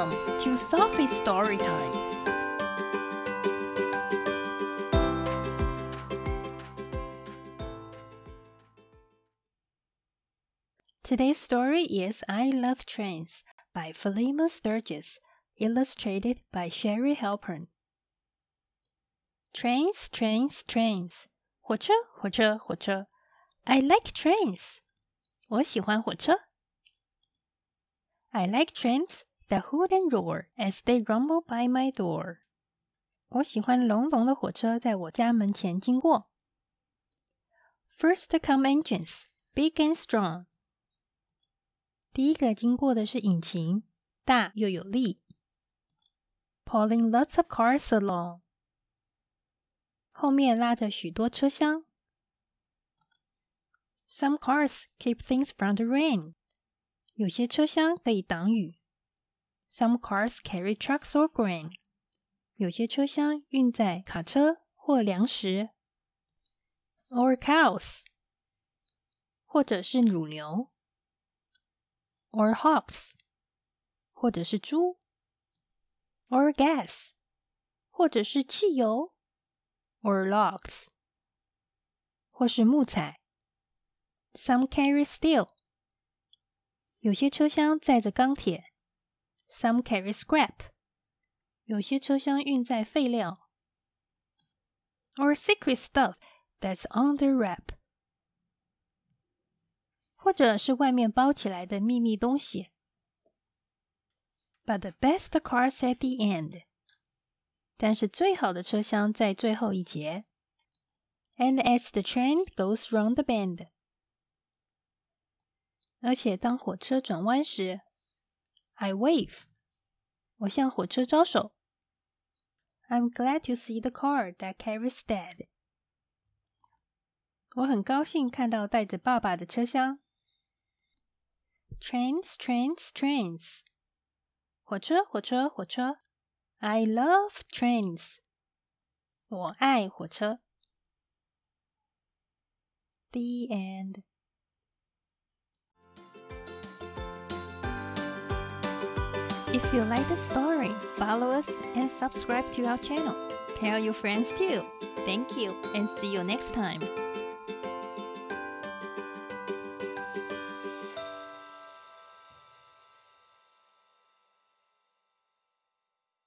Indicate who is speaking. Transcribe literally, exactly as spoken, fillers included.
Speaker 1: Welcome to Sophie's Story Time. Today's story is I Love Trains by Philema Sturgis, illustrated by Sherry Halpern. Trains, trains, trains. 火车，火车，火车。I like trains. 我喜欢火车。I like trains that hoot and roar as they rumble by my door. 我喜欢隆隆的火车在我家门前经过。First come engines, big and strong. 第一个经过的是引擎，大又有力。Pulling lots of cars along. 后面拉着许多车厢。Some cars keep things from the rain. 有些车厢可以挡雨。Some cars carry trucks or grain. 有些车厢运载卡车或粮食。Or cows. 或者是乳牛。Or hogs. 或者是猪。Or gas. 或者是汽油。Or logs. 或是木材。Some carry steel. 有些车厢载着钢铁。Some carry scrap. 有些车厢运载废料。Or secret stuff that's under wrap. 或者是外面包起来的秘密东西。But the best cars at the end. 但是最好的车厢在最后一节。And as the train goes round the bend. 而且当火车转弯时 I wave. 我向火车招手。I'm glad to see the car that carries Dad. 我很高兴看到带着爸爸的车厢。Trains, trains, trains. 火车，火车，火车。I love trains. 我爱火车。The end. If you like the story, follow us and subscribe to our channel. Tell your friends too. Thank you and see you next time.